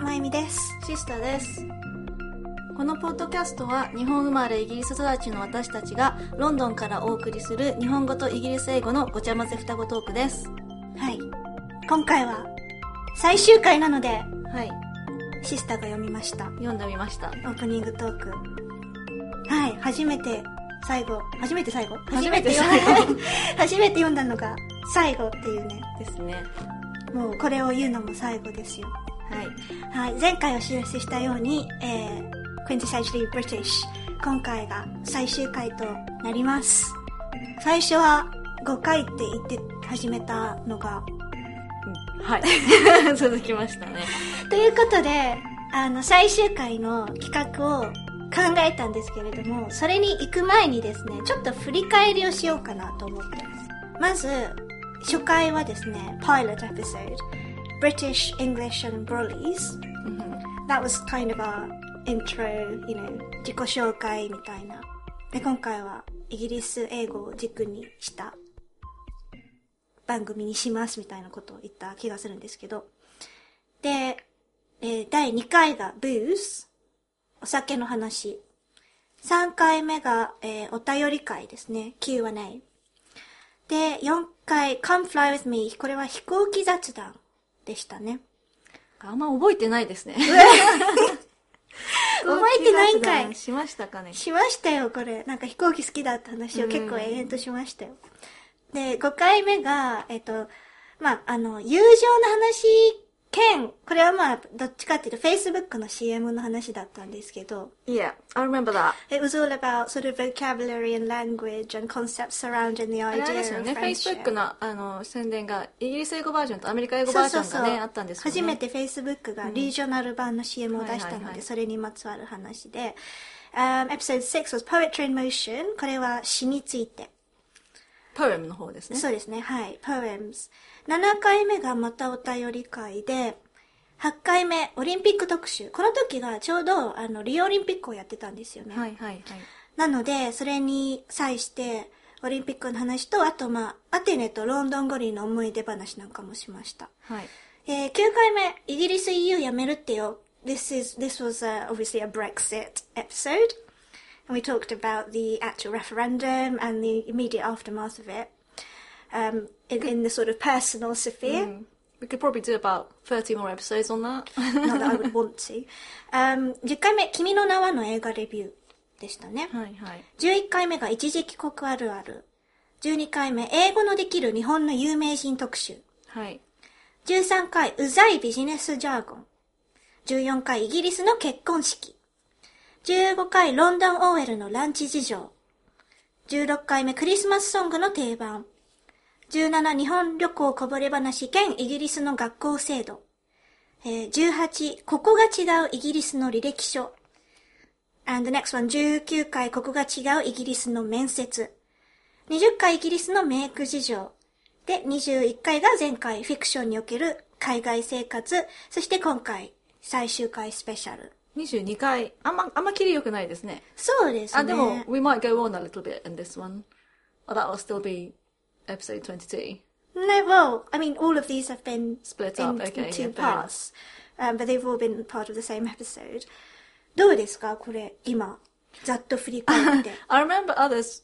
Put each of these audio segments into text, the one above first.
まゆみです。 シスタです。このポッドキャストは日本生まれイギリス育ちの私たちがロンドンからお送りする日本語とイギリス英語のごちゃ混ぜ双子トークです。 はい。今回は最終回なので、 はい。 シスタが読みました。 読んでみました。 オープニングトーク。はい。初めて最後初めて読んだのが最後っていうね。 ですね。 もうこれを言うのも最後ですよ。 はい。 はい。前回お知らせしたように、Quintessentially British 今回が最終回となります。最初は5回って言って始めたのが、 はい。続きましたね。 ということで、最終回の企画を考えたんですけれども、それに行く前にですね、ちょっと振り返りをしようかなと思ってます。まず、初回はですね、Pilot Episode British, English and Brollies、That was kind of a intro,自己紹介みたいな。で、今回はイギリス英語を軸にした番組にしますみたいなことを言った気がするんですけど。で、第2回が Booze、お酒の話。3回目が、お便り会ですね、Q&A。で、4回 Come Fly With Me、これは飛行機雑談でしたね。 あんま覚えてないですね。 覚えてないんかい。 しましたかね。 しましたよ、これ。なんか飛行機好きだった話を結構延々としましたよ。で、5回目が、友情の話兼、これはどっちかっていうと Facebook の CM の話だったんですけど。 Yeah, I remember that. It was all about sort of vocabulary and language and concepts surrounding the idea of friendship. あれですよね、Facebook の宣伝がイギリス英語バージョンとアメリカ英語バージョンがね、あったんですよね。 初めて Facebook がリージョナル版の CM を出したので、それにまつわる話で。Episode 6 was Poetry in Motion. これは詩について。 Poem の方ですね。 そうですね、はい。Poems。7回目がまたお便り会で、8回目、オリンピック特集。この時がちょうど、リオオリンピックをやってたんですよね。 はいはいはい。 なので、それに際して、オリンピックの話と、あとアテネとロンドン五輪の思い出話なんかもしました。 はい。 9回目、イギリス EU やめるってよ。This was obviously a Brexit episode. And we talked about the actual referendum and the immediate aftermath of it. In the sort of personal sphere.We could probably do about 30 more episodes on that. Not that I would want to. 10回目、君の名はの映画レビューでしたね。 はいはい。 11回目が一時帰国あるある。12回目、英語のできる日本の有名人特集。 はい。 13回、うざいビジネスジャーゴン。14回、イギリスの結婚式。15回、ロンドン OL のランチ事情。16回目、クリスマスソングの定番。17、日本旅行こぼれ話兼イギリスの学校制度。18、ここが違うイギリスの履歴書。And the next one、19回、ここが違うイギリスの面接。20回、イギリスのメイク事情。で、21回が前回、フィクションにおける海外生活。そして今回、最終回スペシャル。 22回、あんま切り良くないですね。 そうですね。 でも、we might go on a little bit in this one. Or that will still be...Episode 22. No, well, I mean, all of these have been split up in two parts, but they've all been part of the same episode. どうですかこれ、今、ざっと振り返って。 I remember others,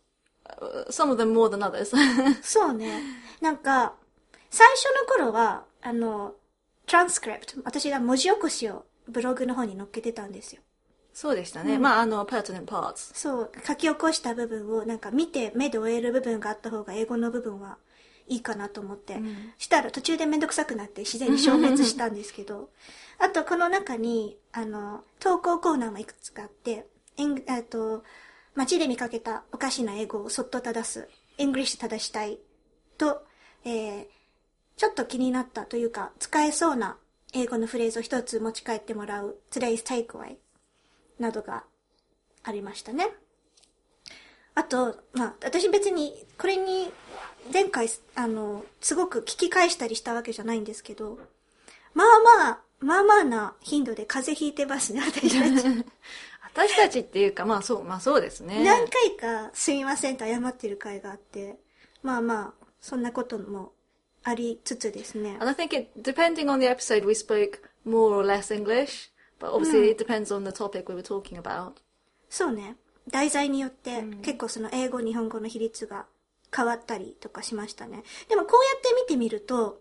some of them more than others. そうね。なんか、最初の頃は、transcript、私が文字起こしをブログの方に載っけてたんですよ。 そうでしたね。pertinent parts。 そう、書き起こした部分をなんか見て目で終える部分があった方が英語の部分はいいかなと思って、したら途中でめんどくさくなって自然に消滅したんですけど、あとこの中に、投稿コーナーもいくつかあって、街で見かけたおかしな英語をそっと正す、English 正したいと、ちょっと気になったというか、使えそうな英語のフレーズを一つ持ち帰ってもらう Today's Takeaway。などがありましたね。あと、私別に、これに、前回、すごく聞き返したりしたわけじゃないんですけど、まあまあな頻度で風邪ひいてますね、私たち。 私たちっていうか、そうですね。 何回かすみませんと謝ってる回があって、そんなこともありつつですね。 And I think depending on the episode, we spoke more or less English, but obviously it depends on the topic we were talking about. そうね。題材によって結構その英語、日本語の比率が変わったりとかしましたね。でもこうやって見てみると、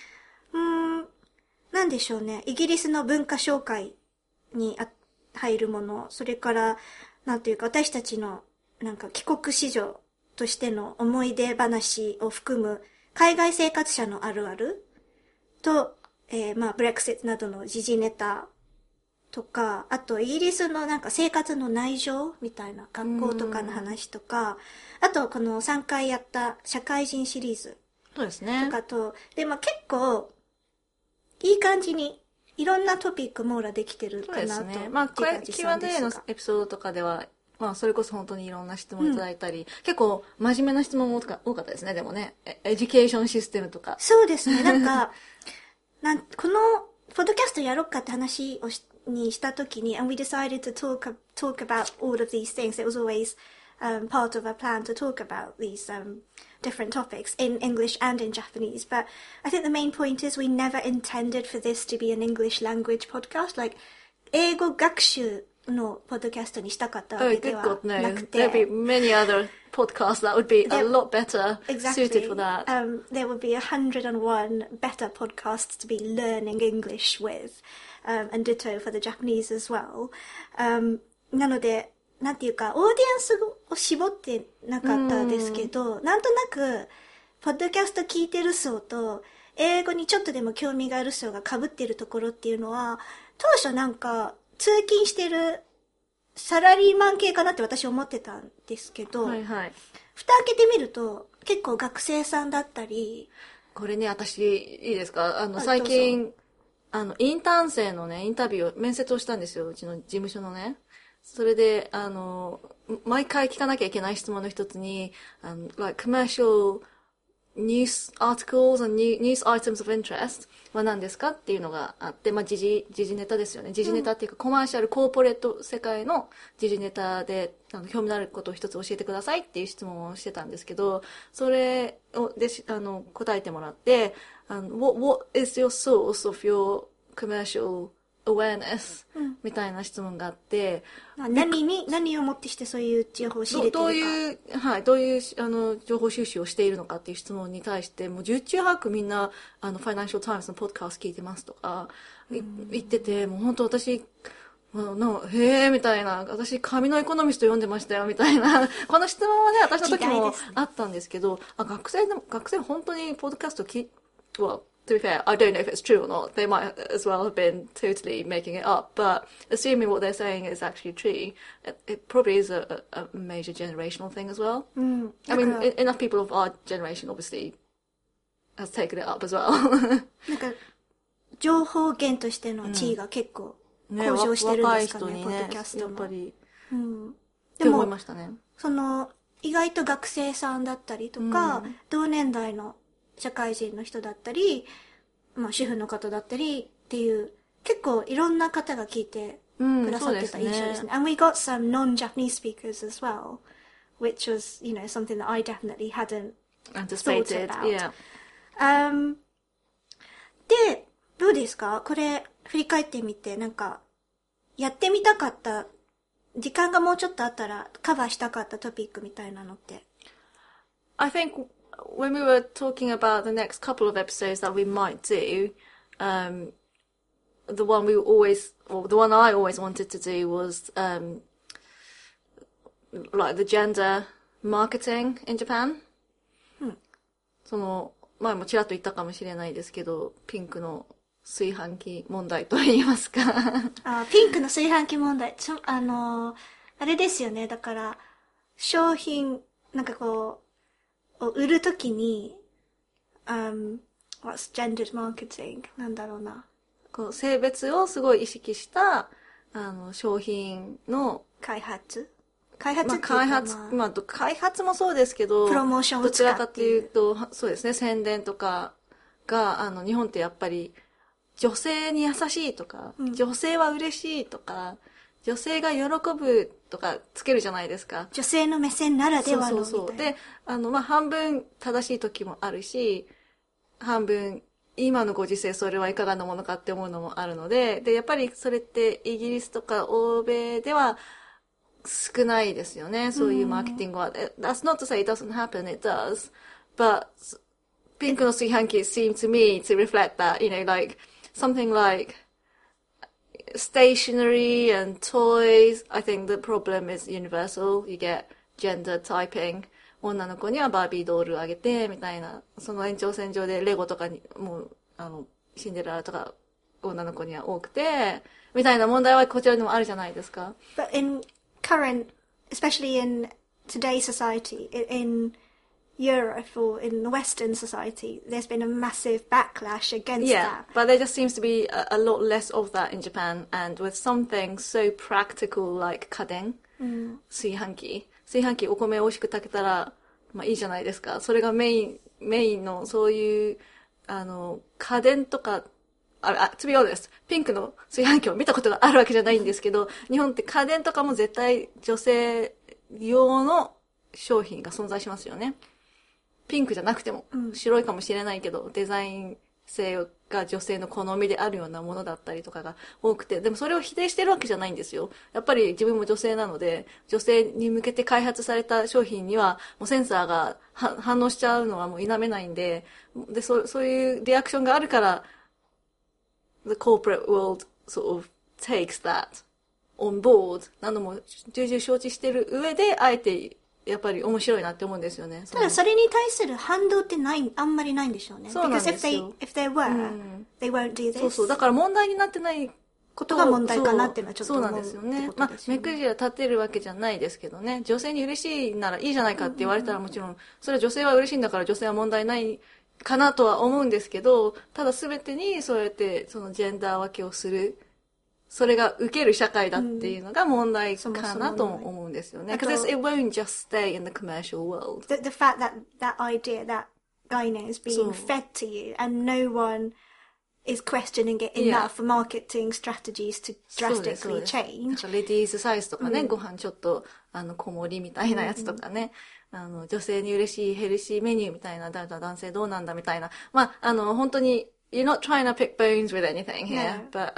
なんでしょうね。イギリスの文化紹介に入るもの、それから、なんていうか私たちのなんか帰国子女としての思い出話を含む海外生活者のあるあると、まあ、ブレクシットなどの時事ネタとか、あとイギリスのなんか生活の内情みたいな学校とかの話とか、あとこの3回やった社会人シリーズそうですね。 とかと、で、まあ結構いい感じにいろんなトピック網羅できてるかなと。 そうですね。まあ、これ Q&A のエピソードとかでは、まあ、それこそ本当にいろんな質問いただいたり、結構真面目な質問も多かったですね、でもね。エデュケーションシステムとか。 そうですね。なんか、この、ポッドキャストやろうかって話をにしたときに、and we decided to talk about all of these things. It was always part of our plan to talk about these different topics in English and in Japanese. But I think the main point is we never intended for this to be an English language podcast. Like, 英語学習のポッドキャストにしたかったわけではなくて。 There'd be many other podcasts that would be a lot better suited for that. There would be 101 better podcasts to be learning English with, and ditto for the Japanese as well. なので、なんていうか、オーディエンスを絞ってなかったですけど、なんとなく、ポッドキャスト聞いてる層と、英語にちょっとでも興味がある層が被ってるところっていうのは、当初なんか、通勤してるサラリーマン系かなって私思ってたんですけど、 はいはい。 蓋開けてみると、結構学生さんだったり。 これね、私、いいですか？最近、インターン生のね、インタビュー、面接をしたんですよ。うちの事務所のね。それで、毎回聞かなきゃいけない質問の一つに、like commercial news articles and news items of interest は何ですかっていうのがあって、まあ、時事ネタですよね。時事ネタっていうか、コマーシャル、コーポレート世界の時事ネタで、興味のあることを一つ教えてくださいっていう質問をしてたんですけど、それで、答えてもらって、what is your source of your commercial awareness、みたいな質問があって、 何をもってしてそういう情報を仕入れてるか。どういう情報収集をしているのかっていう質問に対して、もう十中八九みんな、ファイナンシャルタイムズのポッドキャスト聞いてますとか、言ってて、もう本当私、へーみたいな、私、紙のエコノミスト読んでましたよ、みたいな、この質問はね、私の時もあったんですけど、学生本当にポッドキャストto be fair, I don't know if it's true or not. They might as well have been totally making it up. But assuming what they're saying is actually true, it probably is a major generational thing as well. I mean, enough people of our generation obviously has taken it up as well. なんか、情報源としての地位が結構向上してるんですかね、ポッドキャストの。 やっぱり。 でも、 思いましたね。 意外と学生さんだったりとか、同年代の社会人の人だったり、まあ主婦の方だったりっていう、結構いろんな方が聞いてくださってた印象ですね。And we got some non-Japanese speakers as well, which was, something that I definitely hadn't anticipated. Yeah. で、どうですか？これ、振り返ってみて、なんか、やってみたかった、時間がもうちょっとあったらカバーしたかったトピックみたいなのって。 I think when we were talking about the next couple of episodes that we might do, the one I always wanted to do was, like the gender marketing in Japan. 前もちらっと言ったかもしれないですけど、ピンクの炊飯器問題と言いますか。 ピンクの炊飯器問題。あれですよね。だから、商品、なんかこう、売るときに、what's gendered marketing? なんだろうな。 こう、性別をすごい意識した、商品の開発開発もそうですけど、 プロモーションどちらかというと、そうですね、宣伝とかが、日本ってやっぱり、女性に優しいとか、女性は嬉しいとか、女性が喜ぶとかつけるじゃないですか。 女性の目線ならではのみたいな。 で、半分正しい時もあるし、半分今のご時世それはいかがなものかって思うのもあるので、で、やっぱりそれってイギリスとか欧米では少ないですよね。そういうマーケティングは。That's not to say it doesn't happen, it does. But ピンクの炊飯器 seem to me to reflect that, like something like stationery and toys. I think the problem is universal. You get gender typing. 女の子にはバービードールあげて、みたいな。その延長線上でレゴとかに、もう、シンデレラとか女の子には多くて、みたいな問題はこちらにもあるじゃないですか。 But in current, especially in today's society, in Europe or in the Western society, there's been a massive backlash against that. But there just seems to be a lot less of that in Japan, and with something so practical like 家電、炊飯器お米美味しく炊けたら、まあいいじゃないですか。それがメインのそういう、家電とか、to be honest、ピンクの炊飯器を見たことがあるわけじゃないんですけど、日本って家電とかも絶対女性用の商品が存在しますよね。ピンクじゃなくても、白いかもしれないけど、デザイン性が女性の好みであるようなものだったりとかが多くて、でもそれを否定してるわけじゃないんですよ。やっぱり自分も女性なので、女性に向けて開発された商品には、もうセンサーが反応しちゃうのはもう否めないんで、で、そういうリアクションがあるから、the corporate world sort of takes that on board なのも重々承知してる上で、あえてやっぱり面白いなって思うんですよね。 ただそれに対する反動ってあんまりないんでしょうね。 そうなんですよ。 Because if they were, they won't do this. そう。だから問題になってないことが問題かなっていうのはちょっと思う。 そうなんですよね。まあ、目くじら立てるわけじゃないですけどね。女性に嬉しいならいいじゃないかって言われたらもちろん、それは女性は嬉しいんだから女性は問題ないかなとは思うんですけど、ただ全てにそうやってそのジェンダー分けをする。それが受ける社会だっていうのが問題かなと思うんですよね。Because it won't just stay in the commercial world. The fact that idea, that gyno is being fed to you and no one is questioning it enough for marketing strategies to drastically change. レディースサイズとかね、ご飯ちょっと小盛りみたいなやつとかね、女性に嬉しいヘルシーメニューみたいな、男性どうなんだみたいな。まあ、本当に、you're not trying to pick bones with anything here, but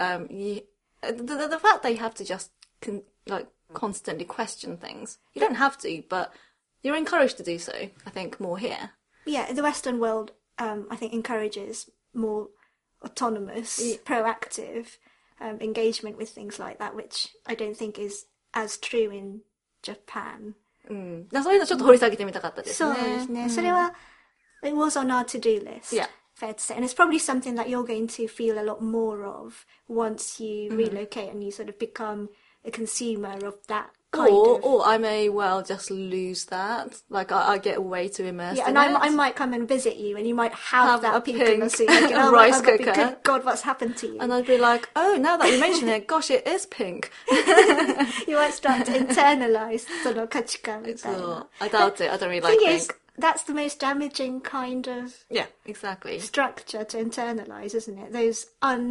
the fact that you have to just constantly question things. You don't have to, but you're encouraged to do so, I think, more here. Yeah, the Western world, I think, encourages more autonomous, proactive engagement with things like that, which I don't think is as true in Japan. そういうのちょっと掘り下げてみたかったですね。 そうですね。それは、it was on our to-do list. Yeah.Fair to say. And it's probably something that you're going to feel a lot more of once you relocate and you sort of become a consumer of that kind of... Or I may well just lose that. Like, I get way too immersed in and it. I might come and visit you and you might have that pink rice cooker. Good God, what's happened to you? And I'd be like, oh, now that you mention it, gosh, it is pink. You might start to internalize その価値観みたいな。 I doubt it. I don't really like pink.That's the most damaging kind of exactly. structure to internalize, isn't it? Those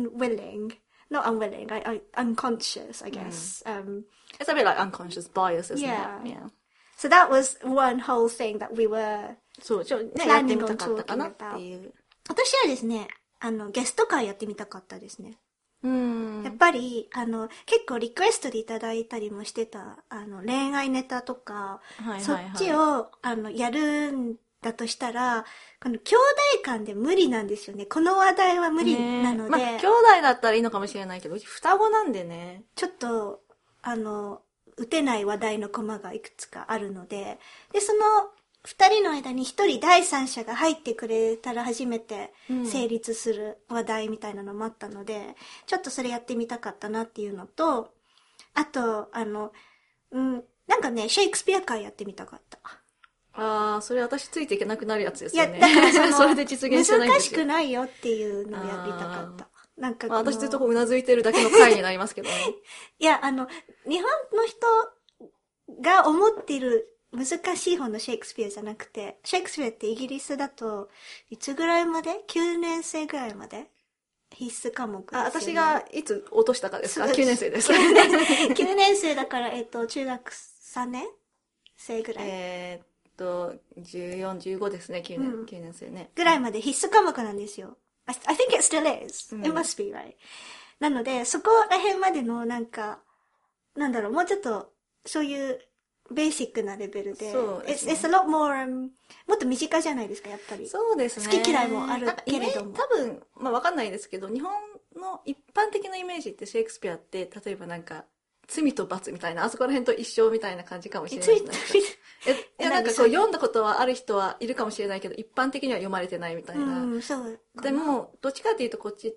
not unwilling, unconscious, I guess. It's a bit like unconscious bias, isn't it? Yeah. So that was one whole thing that we were planning on talking about. 私はですね、ゲスト会やってみたかったですね。やっぱり、結構リクエストでいただいたりもしてた、恋愛ネタとか、そっちを、やるんだとしたら、この兄弟間で無理なんですよね。この話題は無理なので。 まあ、兄弟だったらいいのかもしれないけど、うち双子なんでね。 ちょっと、打てない話題のコマがいくつかあるので、で、その、二人の間に一人第三者が入ってくれたら初めて成立する話題みたいなのもあったので、ちょっとそれやってみたかったなっていうのと、あと、なんかね、シェイクスピア会やってみたかった。 それ私ついていけなくなるやつですよね。 いや、だからそれで実現してないんですよ。 難しくないよっていうのをやりたかった。なんか私ずっとうなずいてるだけの回になりますけどね。 いや、日本の人が思っている難しい方のシェイクスピアじゃなくて、シェイクスピアってイギリスだと、いつぐらいまで ?9 年生ぐらいまで必須科目ですよね。 私がいつ落としたかですか ?9 年生です。 9年生だから、中学3年生ぐらい。 14、15ですね、9年生ね。 ぐらいまで必須科目なんですよ。 I think it still is. It must be, right? なので、そこら辺までのなんか、なんだろう、もうちょっと、そういうベーシックなレベルで。 そうですね。 It's a lot more, もっと身近じゃないですか、やっぱり。 そうですね。 好き嫌いもあるけれども。 多分、まあわかんないですけど、日本の一般的なイメージってシェイクスピアって、例えばなんか、罪と罰みたいな、あそこら辺と一緒みたいな感じかもしれないですね。いや、なんかこう読んだことはある人はいるかもしれないけど、一般的には読まれてないみたいな。 そう。 でも、どっちかっていうとこっちって、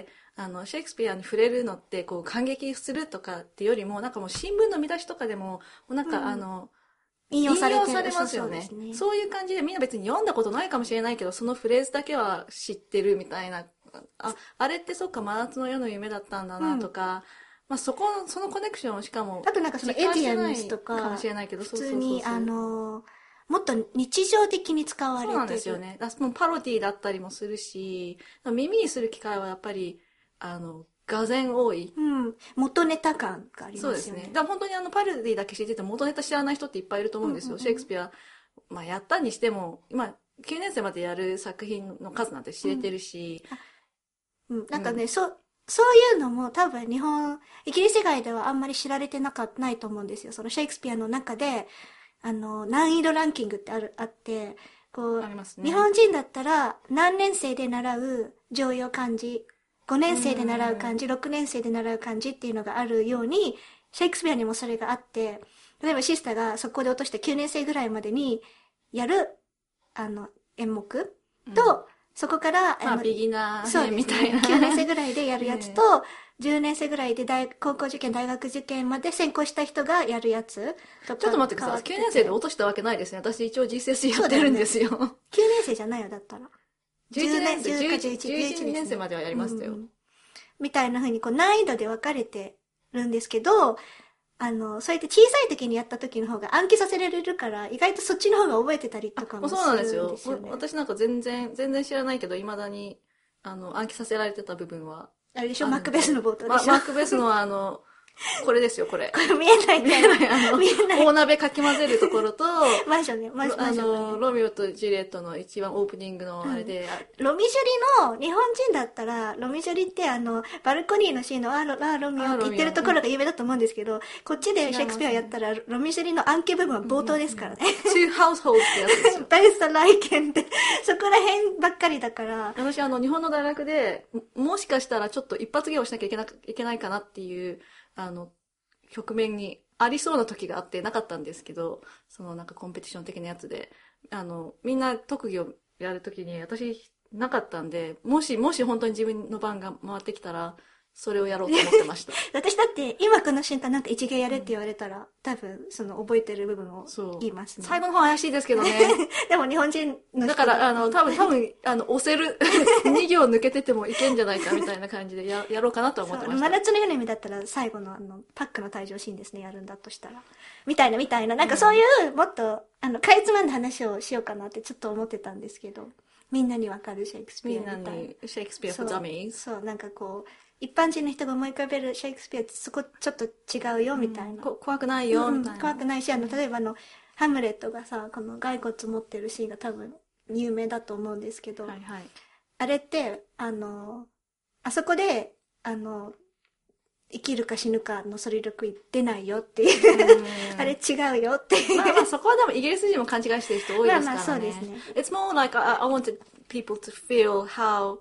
シェイクスピアに触れるのって、こう、感激するとかってよりも、なんかもう新聞の見出しとかでも、なんか引用されますよね。そういう感じでみんな別に読んだことないかもしれないけど、そのフレーズだけは知ってるみたいな。あれってそっか、真夏の夜の夢だったんだなとか、まあそのコネクションをしかも。 あとなんかそのエディアムスとか、 かもしれないけど、 普通にもっと日常的に使われてる。 そうなんですよね。もうパロディだったりもするし、耳にする機会はやっぱり、がぜん多い。 元ネタ感がありますよね。 そうですね。だから本当にパロディだけ知ってて元ネタ知らない人っていっぱいいると思うんですよ。シェイクスピア、まあやったにしても、今、9年生までやる作品の数なんて知れてるし。 なんかね、そういうのも多分イギリス以外ではあんまり知られてないと思うんですよ。そのシェイクスピアの中で、難易度ランキングってあって、こう、 ありますね、 日本人だったら何年生で習う常用漢字、5年生で習う漢字、6年生で習う漢字っていうのがあるように、シェイクスピアにもそれがあって、例えばシスターがそこで落として9年生ぐらいまでにやる、演目と、そこから、 ビギナー編みたいな。 9年生ぐらいでやるやつと、10年生ぐらいで高校受験、大学受験まで専攻した人がやるやつとか。 ちょっと待ってください。9年生で落としたわけないですね。私一応 GCSE やってるんですよ。9 年生じゃないよ、だったら。 11年生、11年生まではやりましたよ。 みたいな風に難易度で分かれてるんですけど、そうやって小さい時にやった時の方が暗記させられるから、意外とそっちの方が覚えてたりとかもするんですよね。 そうなんですよ。私なんか全然知らないけど、未だに、暗記させられてた部分は。 あれでしょ、マックベースの冒頭でしょ。 マックベースのこれですよ、これ。 これ見えない。 大鍋かき混ぜるところと、 マンションね、マンション。 ロミオとジュリエットの一番オープニングのあれで。 ロミジュリの、日本人だったら、ロミジュリってバルコニーのシーンのロミオって言ってるところが有名だと思うんですけど、こっちでシェイクスピアやったら、ロミジュリの暗記部分は冒頭ですからね。 two households ってやつですよ。 ベースとライケンって、そこら辺ばっかりだから。 私日本の大学で、もしかしたらちょっと一発芸をしなきゃいけないかなっていう、局面にありそうな時があってなかったんですけど、なんかコンペティション的なやつで、みんな特技をやる時に私なかったんで、もし本当に自分の番が回ってきたら、それをやろうと思ってました。 私だって、今この瞬間なんか一芸やれって言われたら、多分、覚えてる部分を言いますね。 最後の方怪しいですけどね。 でも日本人の人だから、多分、押せる、2行抜けててもいけんじゃないかみたいな感じでやろうかなと思ってました。 真夏の夜の夢だったら、最後のパックの退場シーンですね、やるんだとしたら。みたいな。なんかそういう、もっと、かいつまんだ話をしようかなってちょっと思ってたんですけど、みんなにわかるシェイクスピアみたいな。 みんなに、シェイクスピア for dummies。 そう、なんかこう、一般人の人が思い浮かべるシェイクスピアってそこちょっと違うよみたいな。 怖くないよみたいな。 怖くないし、例えばハムレットがさ、この骸骨持ってるシーンが多分有名だと思うんですけど、 はいはい、 あれって、あそこで、生きるか死ぬかのsoliloquy出ないよっていうあれ違うよっていう。 まあそこはでもイギリス人も勘違いしてる人多いですからね。 まあそうですね。 It's more like I wanted people to feel how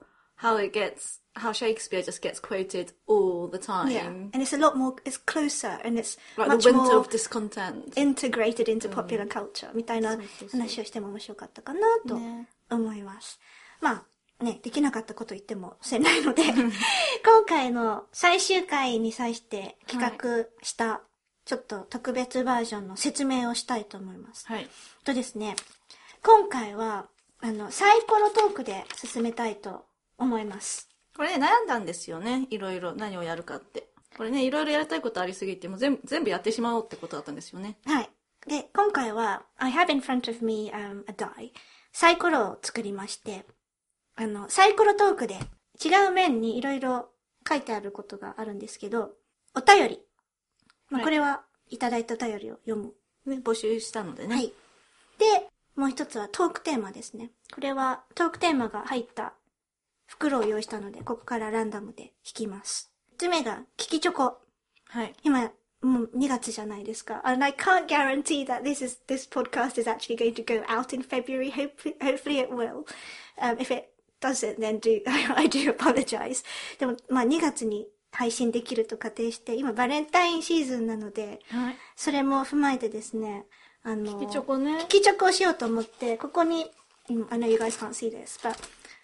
Shakespeare just gets quoted all the time. Yeah, and it's a lot more, it's closer and it's like much the winter more of discontent. integrated into popular culture みたいな話をしても面白かったかなと思います。まあね、できなかったこと言ってもせないので、今回の最終回に際して企画したちょっと特別バージョンの説明をしたいと思います。 はい。 とですね、今回はサイコロトークで進めたいと思います。 これね、悩んだんですよね。いろいろ何をやるかって。これね、いろいろやりたいことありすぎて、もう全部やってしまおうってことだったんですよね。 はい。で、今回は、I have in front of me, a die. サイコロを作りまして、サイコロトークで違う面にいろいろ書いてあることがあるんですけど、お便り。まあ、これはいただいたお便りを読む。 ね、募集したのでね。 はい。で、もう一つはトークテーマですね。これはトークテーマが入った袋を用意したので、ここからランダムで引きます。1つ目が、キキチョコ。 はい。 今、もう2月じゃないですか。And I can't guarantee that this podcast is actually going to go out in February. Hopefully it will. If it doesn't, then I do apologize. でも、まあ2月に配信できると仮定して、今バレンタインシーズンなので、 はい、 それも踏まえてですね、 キキチョコね。 キキチョコをしようと思って、ここに、I know you guys can't see this, but,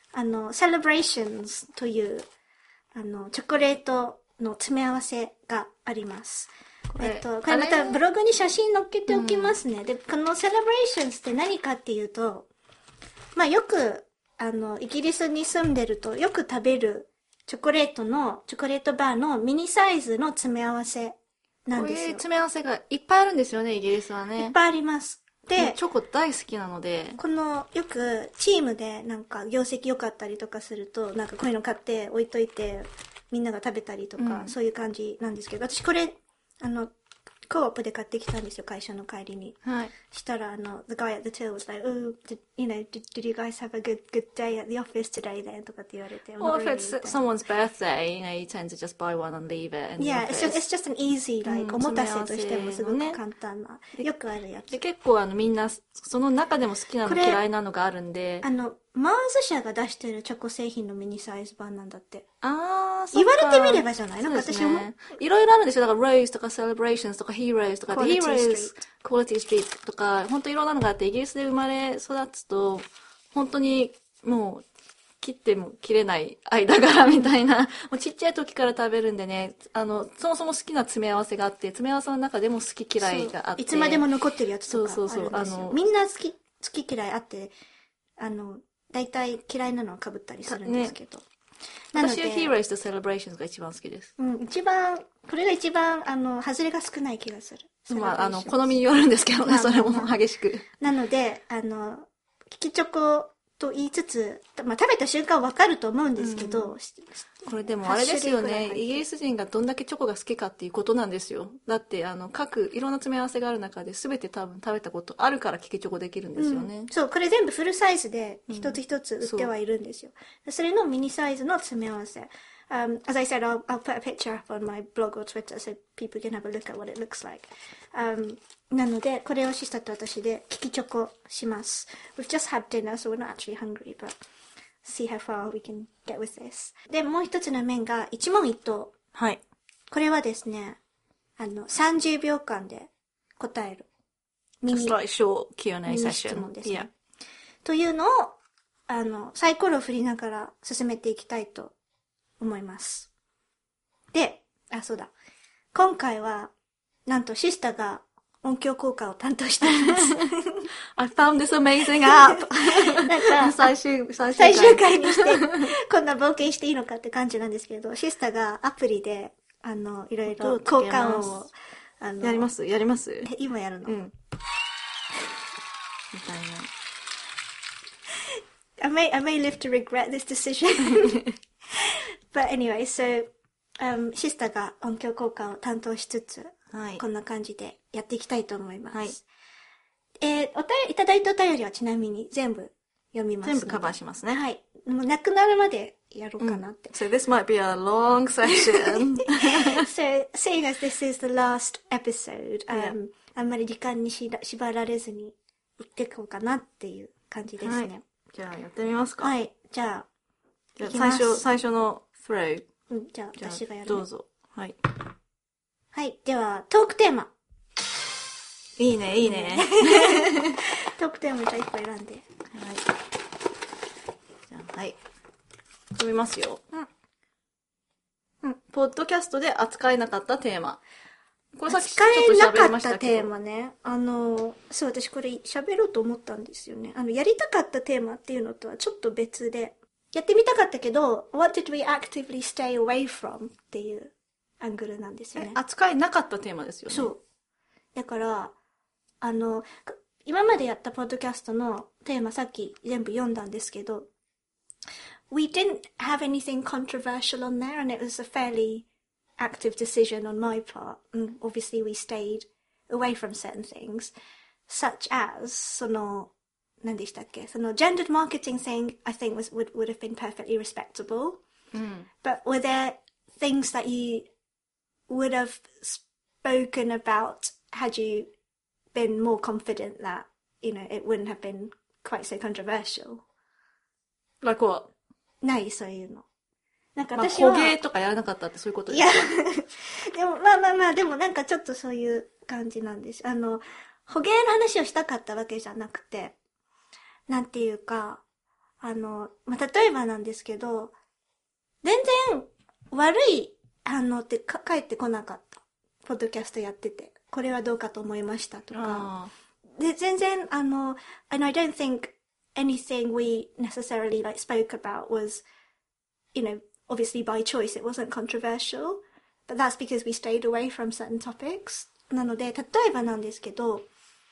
Celebrations という、チョコレートの詰め合わせがあります。これまたブログに写真載っけておきますね。で、この Celebrations って何かっていうと、まあよく、イギリスに住んでるとよく食べるチョコレートバーのミニサイズの詰め合わせなんですよ。 こういう詰め合わせがいっぱいあるんですよね、イギリスはね。 いっぱいあります。で、 チョコ大好きなので。 この、よくチームでなんか業績良かったりとかすると、なんかこういうの買って置いといて、みんなが食べたりとか、そういう感じなんですけど、私これ、コープで買ってきたんですよ、会社の帰りに。 はい。 したら、the guy at the till was like, oh, did you guys have a good day at the office today then? とかって言われて。 Or if it's someone's birthday, you tend to just buy one and leave it in the Yeah, office. it's just an easy, like, おもたせとしてもすごく簡単な、よくあるやつ。 で、結構みんな、その中でも好きなの嫌いなのがあるんで。 マーズ社が出してるチョコ製品のミニサイズ版なんだって。 あー、 そうか。言われてみればじゃない？なんか私も。 いろいろあるんですよ。だから、ローズとか、セレブレーションズとか、ヒーローズとか、ヒーローズ、クオリティストリートとか、本当いろんなのがあって、イギリスで生まれ育つと、本当にもう、切っても切れない間柄みたいな、もうちっちゃい時から食べるんでね、そもそも好きな詰め合わせがあって、詰め合わせの中でも好き嫌いがあって。 いつまでも残ってるやつとかあるんですよ。そうみんな好き嫌いあって、大体嫌いなのは被ったりするんですけど。ね、 私はヒーローズとセレブレーションズが一番好きです。 うん、これが一番、外れが少ない気がする。 まあ、好みによるんですけどね、それも激しく。 なので、キキチョコと言いつつ、まあ、食べた瞬間わかると思うんですけど、 これでもあれですよね、イギリス人がどんだけチョコが好きかっていうことなんですよ。だって、いろんな詰め合わせがある中で全て多分食べたことあるからキキチョコできるんですよね。 そう、これ全部フルサイズで一つ一つ売ってはいるんですよ。それのミニサイズの詰め合わせ。As I said, I'll put a picture up on my blog or Twitter so people can have a look at what it looks like. なので、これをシスタと私でキキチョコします。We've just had dinner, so we're not actually hungry, but see how far we can get with this. で、もう一つの面が一問一答。 はい。 これはですね、30秒間で答える。 ミニshort Q&A セッションですね。Yeah. というのを、サイコロを振りながら進めていきたいと思います。で、そうだ。今回は、なんとシスタが音響効果を担当しています。 I found this amazing app! なんか、最終回にして、こんな冒険していいのかって感じなんですけど、シスタがアプリで、いろいろ効果音を、 やります今やるの。 うん。みたいな。I may live to regret this decision. But anyway, so, シスタが音響効果を担当しつつ、はい、こんな感じでやっていきたいと思います。はい。いただいたお便りはちなみに全部読みます。 全部カバーしますね。 はい。もうなくなるまでやろうかなって。 So this might be a long session. So, seeing as this is the last episode, あんまり時間に縛られずに行っていこうかなっていう感じですね。はい、 じゃあやってみますか。 はい。じゃあ最初の throw。 じゃあ私がやる、ね。 どうぞ。はい。 はい。では、トークテーマ。 いいね、いいね。 トークテーマじゃあ1個選んで。はい。 じゃあ、はい。読みますよ。ポッドキャストで扱えなかったテーマ。これさっきちょっと喋りましたけど。扱えなかったテーマね。そう、私これ喋ろうと思ったんですよね。やりたかったテーマっていうのとはちょっと別で。やってみたかったけど、what did we actively stay away from っていうアングルなんですよね。 扱えなかったテーマですよね。 そう。だから、今までやったポッドキャストのテーマさっき全部読んだんですけど、we didn't have anything controversial on there and it was a fairly active decision on my part. And obviously we stayed away from certain things, such as, 何でしたっけ、その gendered marketing thing, I think would have been perfectly respectable. But were there things that you would have spoken about had you been more confident that, it wouldn't have been quite so controversial? Like what? ないそういうの。なんか私は。捕鯨とかやらなかったってそういうことですか？いや、でもでもなんかちょっとそういう感じなんです。捕鯨の話をしたかったわけじゃなくて、なんていうか、例えばなんですけど、全然悪い反応って返ってこなかった。ポッドキャストやってて。これはどうかと思いましたとか。で、全然、and I don't think anything we necessarily spoke about was, obviously by choice. It wasn't controversial. But that's because we stayed away from certain topics. なので、例えばなんですけど、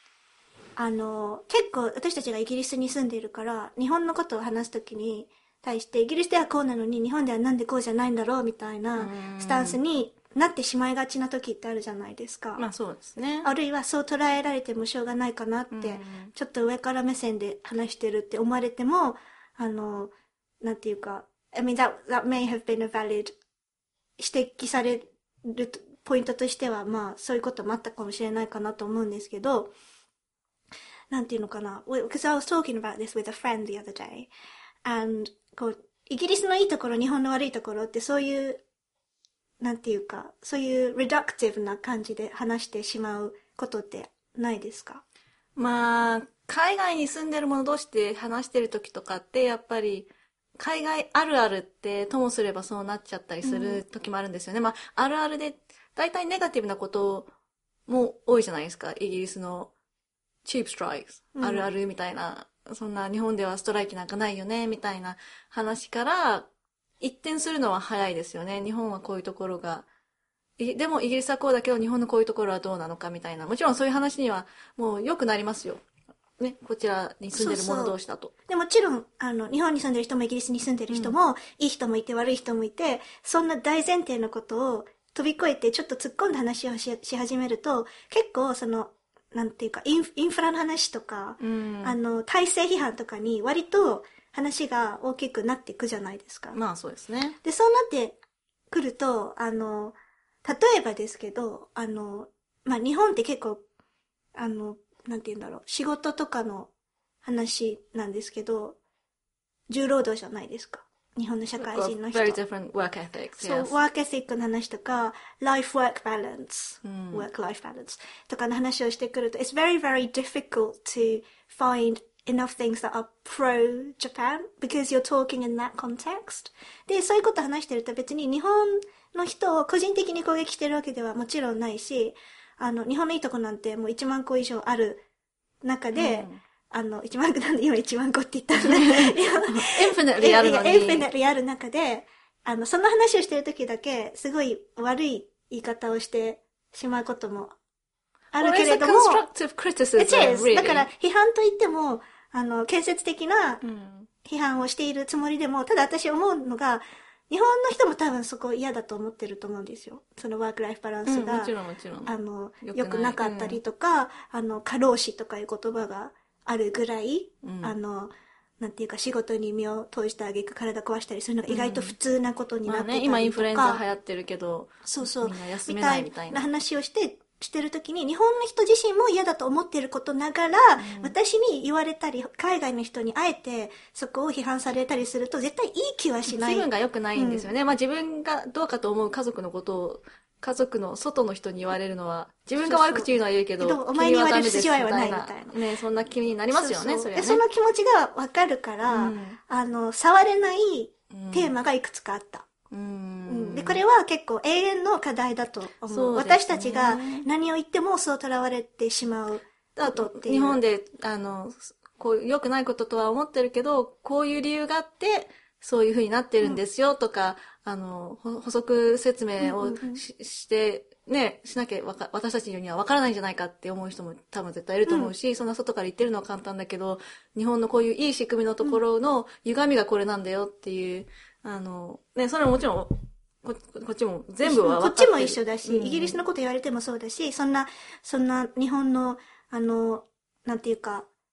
結構私たちがイギリスに住んでいるから、日本のことを話すときに対して、イギリスではこうなのに日本ではなんでこうじゃないんだろうみたいなスタンスになってしまいがちな時ってあるじゃないですか。 まあそうですね。 あるいはそう捉えられてもしょうがないかなって、ちょっと上から目線で話してるって思われても、なんていうか、I mean that may have been a valid 指摘されるポイントとしては、まあそういうこともあったかもしれないかなと思うんですけど、なんていうのかな。Because I was talking about this with a friend the other day. And, イギリスのいいところ、日本の悪いところってそういう、なんていうか、そういう reductive な感じで話してしまうことってないですか？ まあ、海外に住んでる者同士で話してる時とかって、やっぱり、海外あるあるってともすればそうなっちゃったりする時もあるんですよね。まあ、あるあるで、大体ネガティブなことも多いじゃないですか。イギリスのチープストライク、あるあるみたいな、そんな日本ではストライキなんかないよね、みたいな話から一転するのは早いですよね。日本はこういうところが、でもイギリスはこうだけど日本のこういうところはどうなのかみたいな。もちろんそういう話にはもう良くなりますよ。ね、こちらに住んでる者同士だと。 でもちろん、日本に住んでる人もイギリスに住んでる人も、いい人もいて悪い人もいて、そんな大前提のことを飛び越えてちょっと突っ込んだ話をし始めると、結構なんていうか、インフラの話とか、体制批判とかに割と話が大きくなっていくじゃないですか。 まあそうですね。 で、そうなってくると、例えばですけど、まあ日本って結構、なんて言うんだろう、仕事とかの話なんですけど、重労働じゃないですか。日本の社会人の人。 Very different work ethics. そう、ワークエシックの話とか、life-work balance、work-life balance とかの話をしてくると、it's very, very difficult to find enough things that are pro-Japan because you're talking in that context. で、そういうこと話してると別に日本の人を個人的に攻撃してるわけではもちろんないし、日本のいいとこなんてもう1万個以上ある中で、1万個なんで今1万個って言ったらね。 infinitely あるのに。 infinitely ある中で、その話をしてる時だけ、すごい悪い言い方をしてしまうこともあるけれども。 constructive criticism, really. だから、批判といっても、建設的な批判をしているつもりでも、ただ私思うのが、日本の人も多分そこ嫌だと思ってると思うんですよ。そのワークライフバランスが、 もちろんもちろん。 良くなかったりとか、過労死とかいう言葉があるぐらい、なんていうか仕事に身を投じてあげく体壊したりするのが意外と普通なことになってたりとか。まあね、 今インフルエンザ流行ってるけど、 そうそう。 みんな休めないみたいな。 話をしてるときに、日本の人自身も嫌だと思っていることながら、私に言われたり、海外の人にあえてそこを批判されたりすると、絶対いい気はしない。 気分が良くないんですよね。まあ自分がどうかと思う家族のことを、家族の外の人に言われるのは、自分が悪口言うのは言うけど、 お前に言われる筋合いはないみたいな。 ね、そんな気になりますよね、それはね。 その気持ちがわかるから、触れないテーマがいくつかあった。で、これは結構永遠の課題だと思う。私たちが何を言ってもそう囚われてしまうことっていう。 日本で、こう、良くないこととは思ってるけど、こういう理由があって、そういう風になってるんですよとか、補足説明をして、ね、しなきゃ私たちには分からないんじゃないかって思う人も多分絶対いると思うし、そんな外から言ってるのは簡単だけど、日本のこういういい仕組みのところの歪みがこれなんだよっていう、ね、それはもちろん、こっちも全部は分かってる。 こっちも一緒だし、イギリスのこと言われてもそうだし、そんな日本の、なんていうか、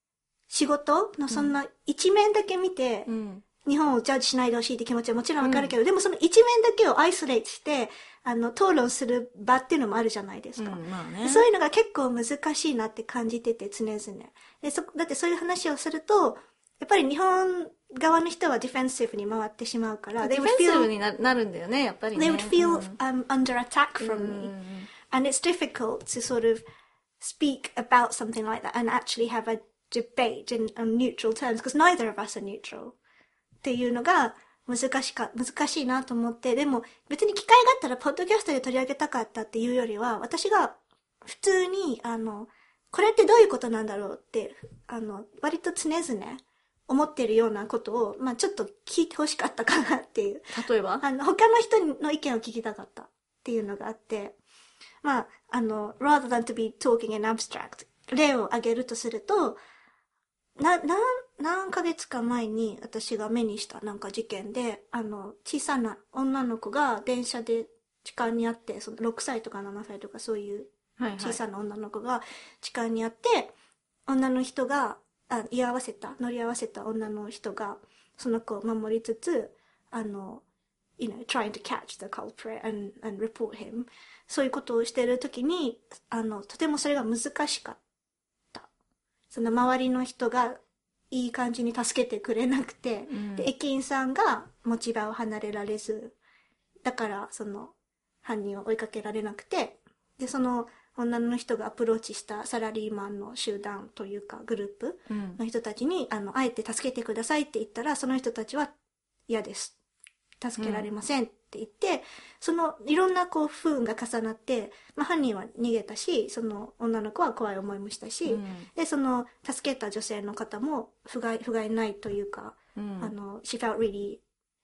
仕事のそんな一面だけ見て、 うん。 日本をジャッジしないでほしいって気持ちはもちろんわかるけど、でもその一面だけをアイソレートして、討論する場っていうのもあるじゃないですか。 まあね。 そういうのが結構難しいなって感じてて、常々。だってそういう話をすると、やっぱり日本側の人はディフェンシブに回ってしまうから、 ディフェンシブになるんだよね、やっぱりね。 They would feel under attack from me. And it's difficult to sort of speak about something like that and actually have a debate on neutral terms, because neither of us are neutral. っていうのが難しいなと思って、でも別に機会があったらポッドキャストで取り上げたかったっていうよりは、私が普通に、これってどういうことなんだろうって、割と常々思ってるようなことを、まあちょっと聞いてほしかったかなっていう。 例えば他の人の意見を聞きたかったっていうのがあって、まあrather than to be talking in abstract、例を挙げるとすると、何ヶ月か前に私が目にしたなんか事件で、小さな女の子が電車で痴漢にあって、その6歳とか7歳とかそういう小さな女の子が痴漢にあって、女の人が、乗り合わせた女の人が、その子を守りつつ、trying to catch the culprit and report him。そういうことをしているときに、とてもそれが難しかった。その周りの人がいい感じに助けてくれなくて、で、駅員さんが持ち場を離れられず、だからその犯人を追いかけられなくて、で、その女の人がアプローチしたサラリーマンの集団というかグループの人たちに、あえて助けてくださいって言ったら、その人たちは嫌です。助けられませんって言って、そのいろんなこう不運が重なって、まあ犯人は逃げたし、その女の子は怖い思いもしたし、で、その助けた女性の方も不甲斐ないというか、she felt really,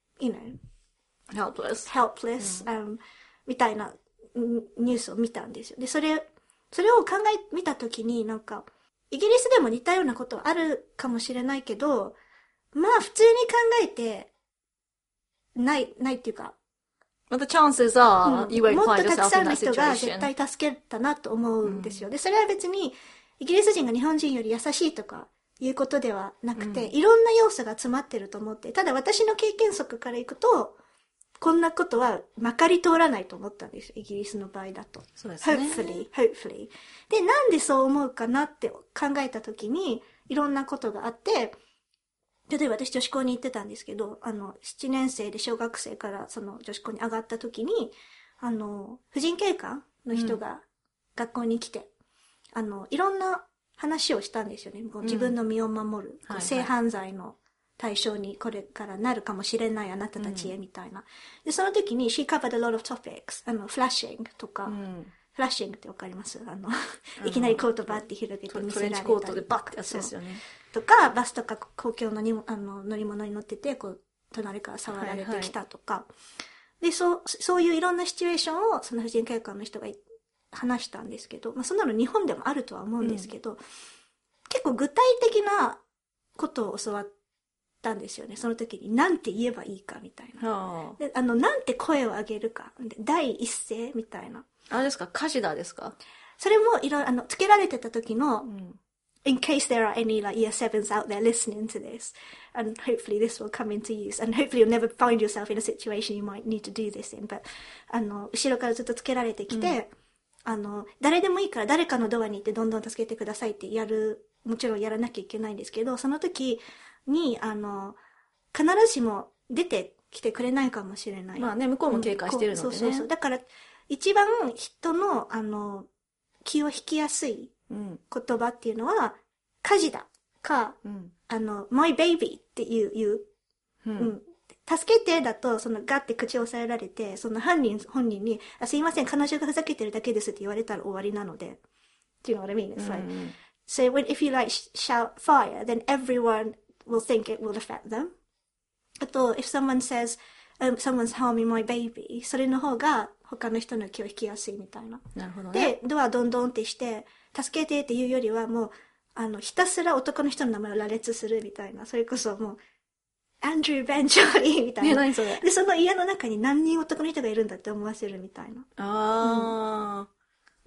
helpless、みたいなニュースを見たんですよ。で、それを見たときになんか、イギリスでも似たようなことはあるかもしれないけど、まあ普通に考えて、ないっていうか。 But the chances are, you won't もっ find とたく yourself さ in んの that 人が situation. 絶対助けたなと思うんですよ。で、それは別に、イギリス人が日本人より優しいとかいうことではなくて、いろんな要素が詰まってると思って、ただ私の経験則からいくと、こんなことはまかり通らないと思ったんですよ。イギリスの場合だと。 そうですね。 hopefully。で、なんでそう思うかなって考えたときに、いろんなことがあって、例えば私女子校に行ってたんですけど、7年生で小学生からその女子校に上がった時に、婦人警官の人が学校に来て、いろんな話をしたんですよね。自分の身を守る、性犯罪の対象にこれからなるかもしれないあなたたちへみたいな。で、その時に she covered a lot of topics。フラッシングとか、フラッシングってわかります？いきなりコートバーって広げて見せられたり。 トレンチコートでバッてやつですよね。 とか、バスとか公共の乗り物に乗ってて、こう、隣から触られてきたとか。で、そういういろんなシチュエーションを、その婦人警官の人が話したんですけど、まあ、そんなの日本でもあるとは思うんですけど、結構具体的なことを教わったんですよね。その時に、なんて言えばいいかみたいな。で、なんて声を上げるか。第一声みたいな。 あれですか？カシダですか？ それもつけられてた時の、in case there are any like year 7s out there listening to this, and hopefully this will come into use, and hopefully you'll never find yourself in a situation you might need to do this in, but 後ろからずっとつけられてきて、誰でもいいから誰かのドアに行ってどんどん助けてくださいってもちろんやらなきゃいけないんですけど、その時に必ずしも出てきてくれないかもしれない。 まあね、向こうも警戒してるのでね。 そう。だから一番人の気を引きやすい言葉っていうのは、火事だか、my baby っていう、助けてだと、ガッて口を押さえられて、その本人に、すいません、彼女がふざけてるだけですって言われたら終わりなので。Do you know what I mean? It's like, so if you like shout fire, then everyone will think it will affect them. あと、if someone says, someone's harming my baby, それの方が他の人の気を引きやすいみたいな。 なるほどね。 で、ドアどんどんってして、助けてっていうよりはもう、ひたすら男の人の名前を羅列するみたいな。それこそもう、アンドリュー・ベン・ジョリーみたいな。 何それ？ で、その家の中に何人男の人がいるんだって思わせるみたいな。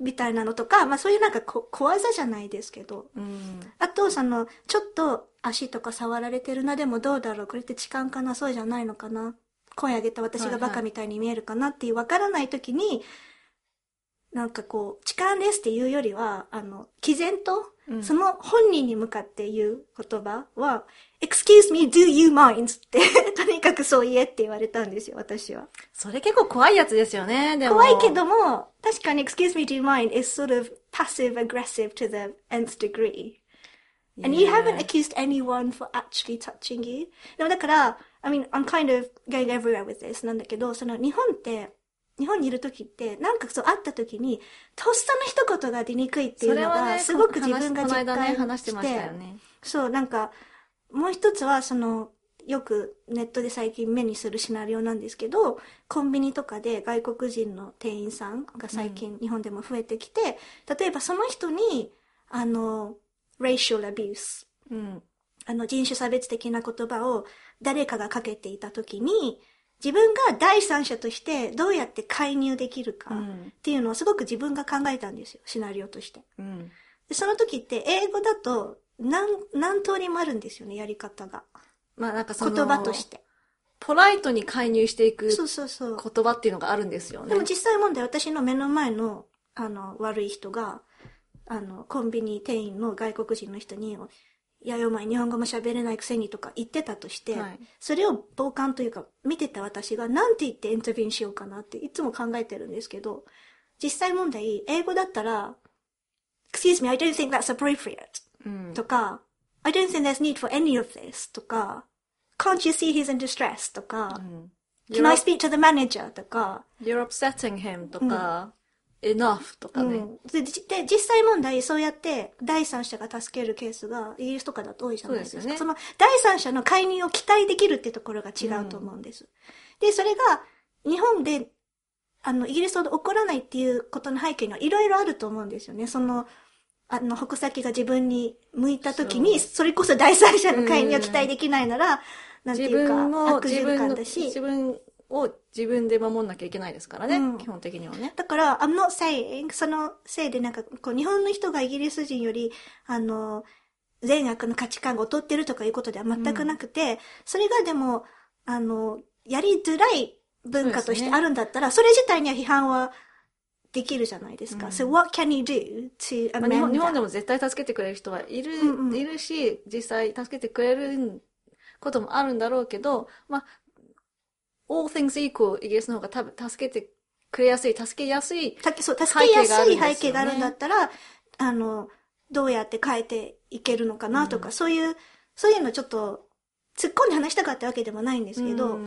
みたいなのとか、まあそういうなんか小技じゃないですけど。あと、ちょっと足とか触られてるな、でもどうだろう、これって痴漢かな、そうじゃないのかな、声上げた私がバカみたいに見えるかなっていうわからないときに、なんか痴漢ですっていうよりは、毅然と、その本人に向かって言う言葉は、excuse me, do you mind? って、とにかくそう言えって言われたんですよ、私は。 それ結構怖いやつですよね、でも。 怖いけども、確かに excuse me, do you mind? is sort of passive aggressive to the nth degree.And you haven't accused anyone for actually touching you. でもだから、I mean, I'm kind of going everywhere with this なんだけど、日本にいる時って、なんか会った時に、とっさの一言が出にくいっていうのが、すごく自分が実感して、そう、なんか、もう一つは、よくネットで最近目にするシナリオなんですけど、コンビニとかで外国人の店員さんが最近日本でも増えてきて、例えばその人に、racial abuse、人種差別的な言葉を誰かがかけていたときに、自分が第三者としてどうやって介入できるかっていうのをすごく自分が考えたんですよ、シナリオとして。でその時って英語だと何通りもあるんですよね、やり方が。 まあなんか言葉として。 ポライトに介入していく言そう葉っていうのがあるんですよね。 でも実際問題、私の目の前の、悪い人が、コンビニ店員の外国人の人に、いや、お前日本語も喋れないくせにとか言ってたとして、それを傍観というか見てた私がなんて言ってインタビューしようかなっていつも考えてるんですけど、実際問題、英語だったら、Excuse me, I don't think that's appropriate、とか、I don't think there's need for any of this とか、Can't you see he's in distress とか、Can I speak to the manager とか、 You're upsetting him とか、enough とかね。 で、実際問題、そうやって第三者が助けるケースがイギリスとかだと多いじゃないですか。 そうですよね。 その第三者の介入を期待できるってところが違うと思うんです。で、それが日本で、イギリスほど起こらないっていうことの背景にはいろいろあると思うんですよね。矛先が自分に向いたときに、それこそ第三者の介入を期待できないなら、なんていうか、悪循環だし。 自分を自分で守んなきゃいけないですからね、基本的にはね。 だから、I'm not saying、そのせいでなんか、日本の人がイギリス人より、善悪の価値観が劣ってるとかいうことでは全くなくて、それがでも、やりづらい文化としてあるんだったら、それ自体には批判はできるじゃないですか。So what can you do to amend that? 日本でも絶対助けてくれる人はいるし、実際助けてくれることもあるんだろうけど、all things equal、イギリスの方が多分助けてくれやすい、助けやすい背景があるんだったら、どうやって変えていけるのかなとか、そういうのちょっと突っ込んで話したかったわけでもないんですけど、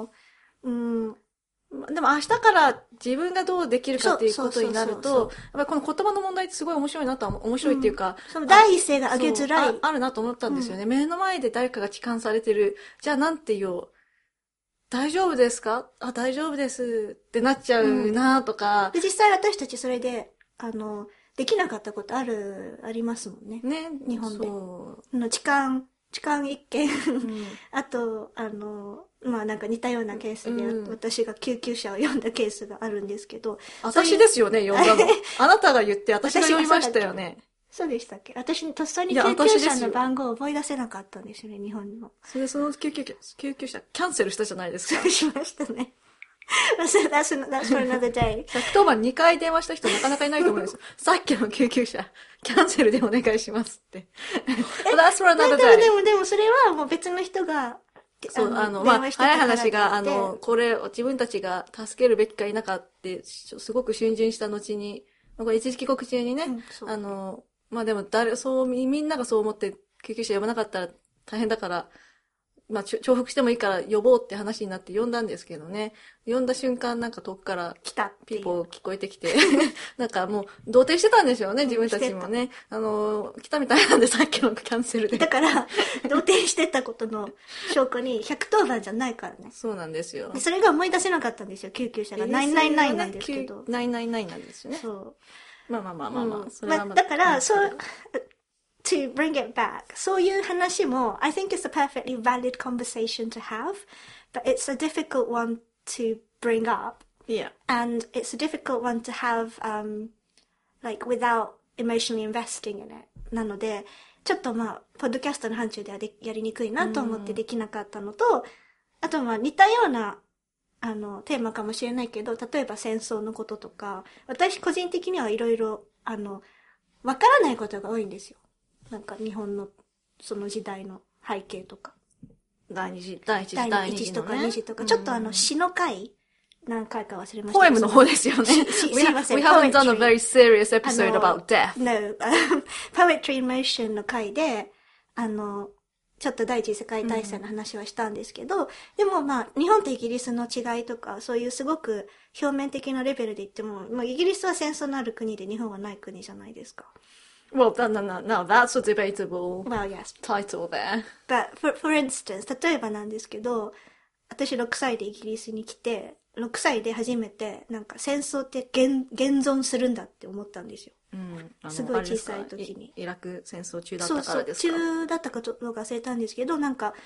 でも明日から自分がどうできるかっていうことになると、やっぱりこの言葉の問題ってすごい面白いっていうか、 その第一声が上げづらい。 あるなと思ったんですよね。目の前で誰かが痴漢されてる。じゃあなんて言おう。大丈夫ですか？大丈夫ですってなっちゃうなとか、 で、実際私たちそれで、できなかったことありますもんね。 ね。 日本で。痴漢一件。あと、なんか似たようなケースで、私が救急車を呼んだケースがあるんですけど。 私ですよね、呼んだの。あなたが言って私が呼びましたよね。 そうでしたっけ？私にとっさに救急車の番号を思い出せなかったんですよね、日本にも。 その救急車キャンセルしたじゃないですか。 そうしましたね。that's for another day. 110番2回電話した人なかなかいないと思うんですよ。さっきの救急車、キャンセルでお願いしますって。that's for another day. でもそれはもう別の人が、 そう、早い話が、これを自分たちが助けるべきか否かって、すごく逡巡した後に、これ一時帰国中にね、でもみんながそう思って救急車呼ばなかったら大変だから、重複してもいいから呼ぼうって話になって呼んだんですけどね。呼んだ瞬間なんか遠くからピーポー聞こえてきて、なんかもう動転してたんでしょうね、自分たちもね。来たみたいなんでさっきのキャンセルで。 だから、動転してたことの証拠に110番じゃないからね。 そうなんですよ。 それが思い出せなかったんですよ、救急車が。999なんですけど。 999なんですよね。 そう。 それはだから、to bring it back, そういう話も I think it's a perfectly valid conversation to have, but it's a difficult one to bring up. Yeah. And it's a difficult one to have like without emotionally investing in it. なので、ちょっとポッドキャストの範疇ではやりにくいなと思ってできなかったのと、あと似たような、テーマかもしれないけど、例えば戦争のこととか、私個人的にはいろいろ、わからないことが多いんですよ。なんか日本のその時代の背景とか。 第一次とか二次とか、ちょっと詩の回何回か忘れました。 ポエムの方ですよね。We haven't done a very serious episode about death. No. Poetry in Motion の回で、ちょっと第一次世界大戦の話はしたんですけど、でも日本とイギリスの違いとか、そういうすごく表面的なレベルで言っても、イギリスは戦争のある国で日本はない国じゃないですか。 Well, no, that's a debatable yes. title there. But for instance, 例えばなんですけど、私6歳でイギリスに来て、6歳で初めて、なんか戦争って現存するんだって思ったんですよ。すごい小さい時に。 イラク戦争中だったからですか？ そう、中だったかどうか忘れたんですけど、なんか、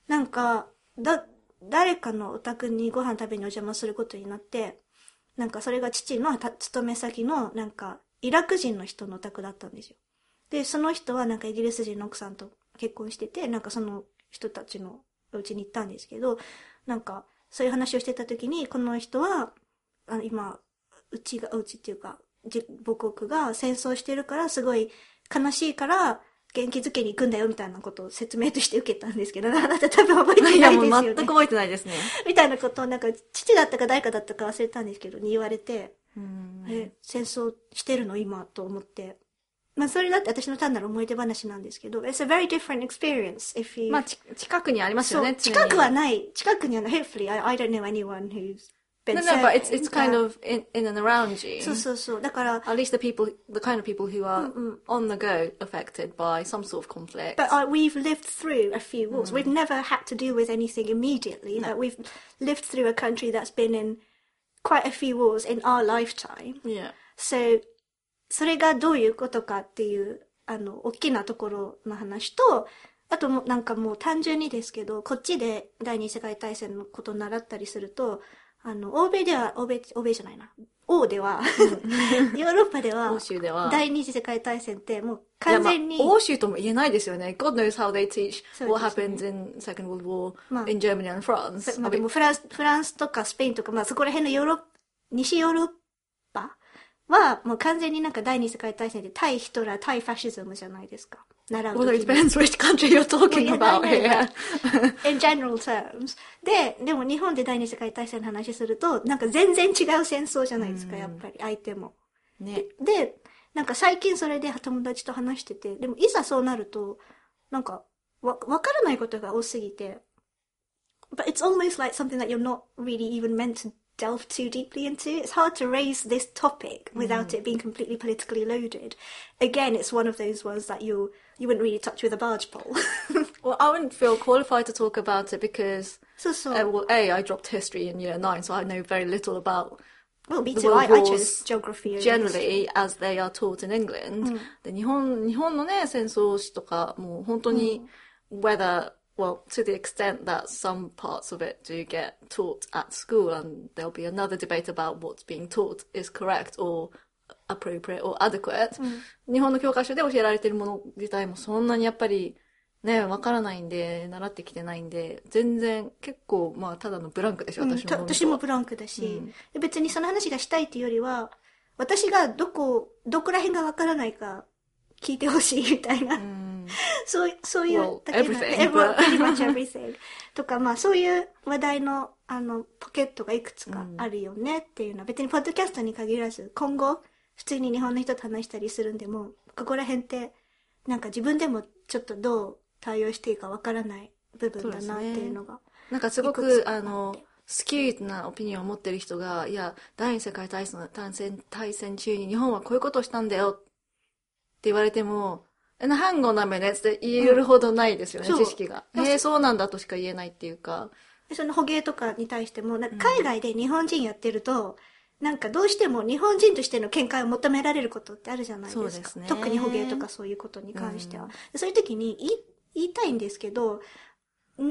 誰かのお宅にご飯食べにお邪魔することになって、なんかそれが父の勤め先の、なんか、イラク人の人のお宅だったんですよ。で、その人はなんかイギリス人の奥さんと結婚してて、なんかその人たちのお家に行ったんですけど、なんか、そういう話をしてた時に、この人は、今、うちっていうか、母国が戦争してるから、すごい悲しいから、元気づけに行くんだよ、みたいなことを説明として受けたんですけど、あなた多分覚えてないですよね。 いや、もう全く覚えてないですね。 みたいなことを、なんか、父だったか誰かだったか忘れたんですけど、に言われて、戦争してるの今、と思って。それだって私の単なる思い出話なんですけど、it's a very different experience if you... 近くにありますよね、 近くはない。hopefully, I don't know anyone who's been No, but it's kind of in and around you. そう。だから、 at least the kind of people who are on the go affected by some sort of conflict. But we've lived through a few wars. We've never had to deal with anything immediately, but we've lived through a country that's been in quite a few wars in our lifetime. Yeah. So, それがどういうことかっていう、大きなところの話と、あとなんかもう単純にですけど、こっちで第二次世界大戦のことを習ったりすると、欧米じゃないな。欧では、ヨーロッパでは、 欧州では、 第二次世界大戦ってもう完全に、 欧州とも言えないですよね。God knows how they teach what happens in Second World War in Germany and France. でもフランスとかスペインとか、そこら辺の西ヨーロッパは、もう完全になんか第二次世界大戦で対ヒトラー、対ファシズムじゃないですか。習う時に。 Well, it depends which country you're talking about here. In general terms. でも日本で第二次世界大戦の話すると、なんか全然違う戦争じゃないですか、やっぱり、相手も。 ね。 で、なんか最近それで友達と話してて、でもいざそうなると、なんか、わからないことが多すぎて、but it's almost like something that you're not really even meant to delve too deeply into. It's hard to raise this topic without it being completely politically loaded. Again, it's one of those ones that you wouldn't really touch with a barge pole. Well, I wouldn't feel qualified to talk about it because, well, I dropped history in year 9, so I know very little about well, me the too. world I wars chose geography generally as they are taught in England. で、日本のね、戦争史とか、もう本当に、well, to the extent that some parts of it do get taught at school, and there'll be another debate about what's being taught is correct or appropriate or adequate. 日本の教科書で教えられているもの自体もそんなにやっぱりね、わからないんで、習ってきてないんで、全然結構、ただのブランクですよ、 私もブランクだし、別にその話がしたいっていうよりは、私がどこら辺がわからないか聞いてほしいみたいな。そういうだけな、pretty much everything とか、そういう話題の、ポケットがいくつかあるよねっていうのは、別にポッドキャストに限らず、今後、普通に日本の人と話したりするんでも、ここら辺って、なんか自分でもちょっとどう対応していいかわからない部分だなっていうのが。 なんかすごく、スキューなオピニオンを持ってる人が、いや、第二次世界大戦中に日本はこういうことをしたんだよって言われても、hang on a minute って言えるほどないですよね、知識が。そうなんだとしか言えないっていうか。 その捕鯨とかに対しても、なんか海外で日本人やってると、なんかどうしても日本人としての見解を求められることってあるじゃないですか。 そうですね。 特に捕鯨とかそういうことに関しては。そういう時に言いたいんですけど、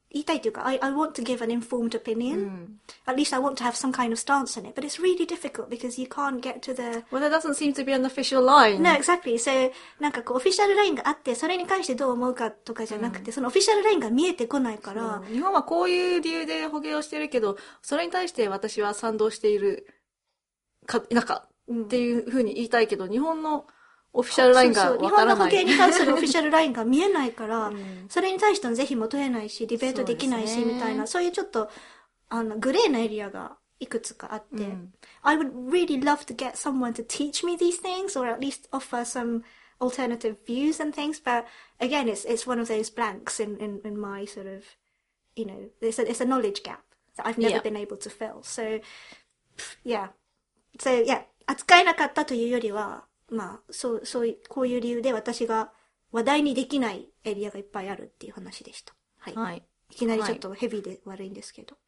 言いたいというか、I want to give an informed opinion. At least I want to have some kind of stance on it. But it's really difficult because you can't get to the... Well, there doesn't seem to be an official line. No, exactly. So, なんかこう、オフィシャルラインがあって、それに関してどう思うかとかじゃなくて、そのオフィシャルラインが見えてこないから。 日本はこういう理由で捕鯨をしてるけど、それに対して私は賛同しているか、否かっていうふうに言いたいけど、日本のオフィシャルラインがわからない。 日本の保険に関するオフィシャルラインが見えないから、それに対しての是非も問えないし、ディベートできないし、みたいな、そういうちょっと、グレーなエリアがいくつかあって、I would really love to get someone to teach me these things, or at least offer some alternative views and things, but again, it's one of those blanks in my sort of, you know, it's a knowledge gap that I've never been able to fill. So, yeah. So, yeah. 扱えなかったというよりは、まあ、こういう理由で私が話題にできないエリアがいっぱいあるっていう話でした。はい。いきなりちょっとヘビーで悪いんですけど。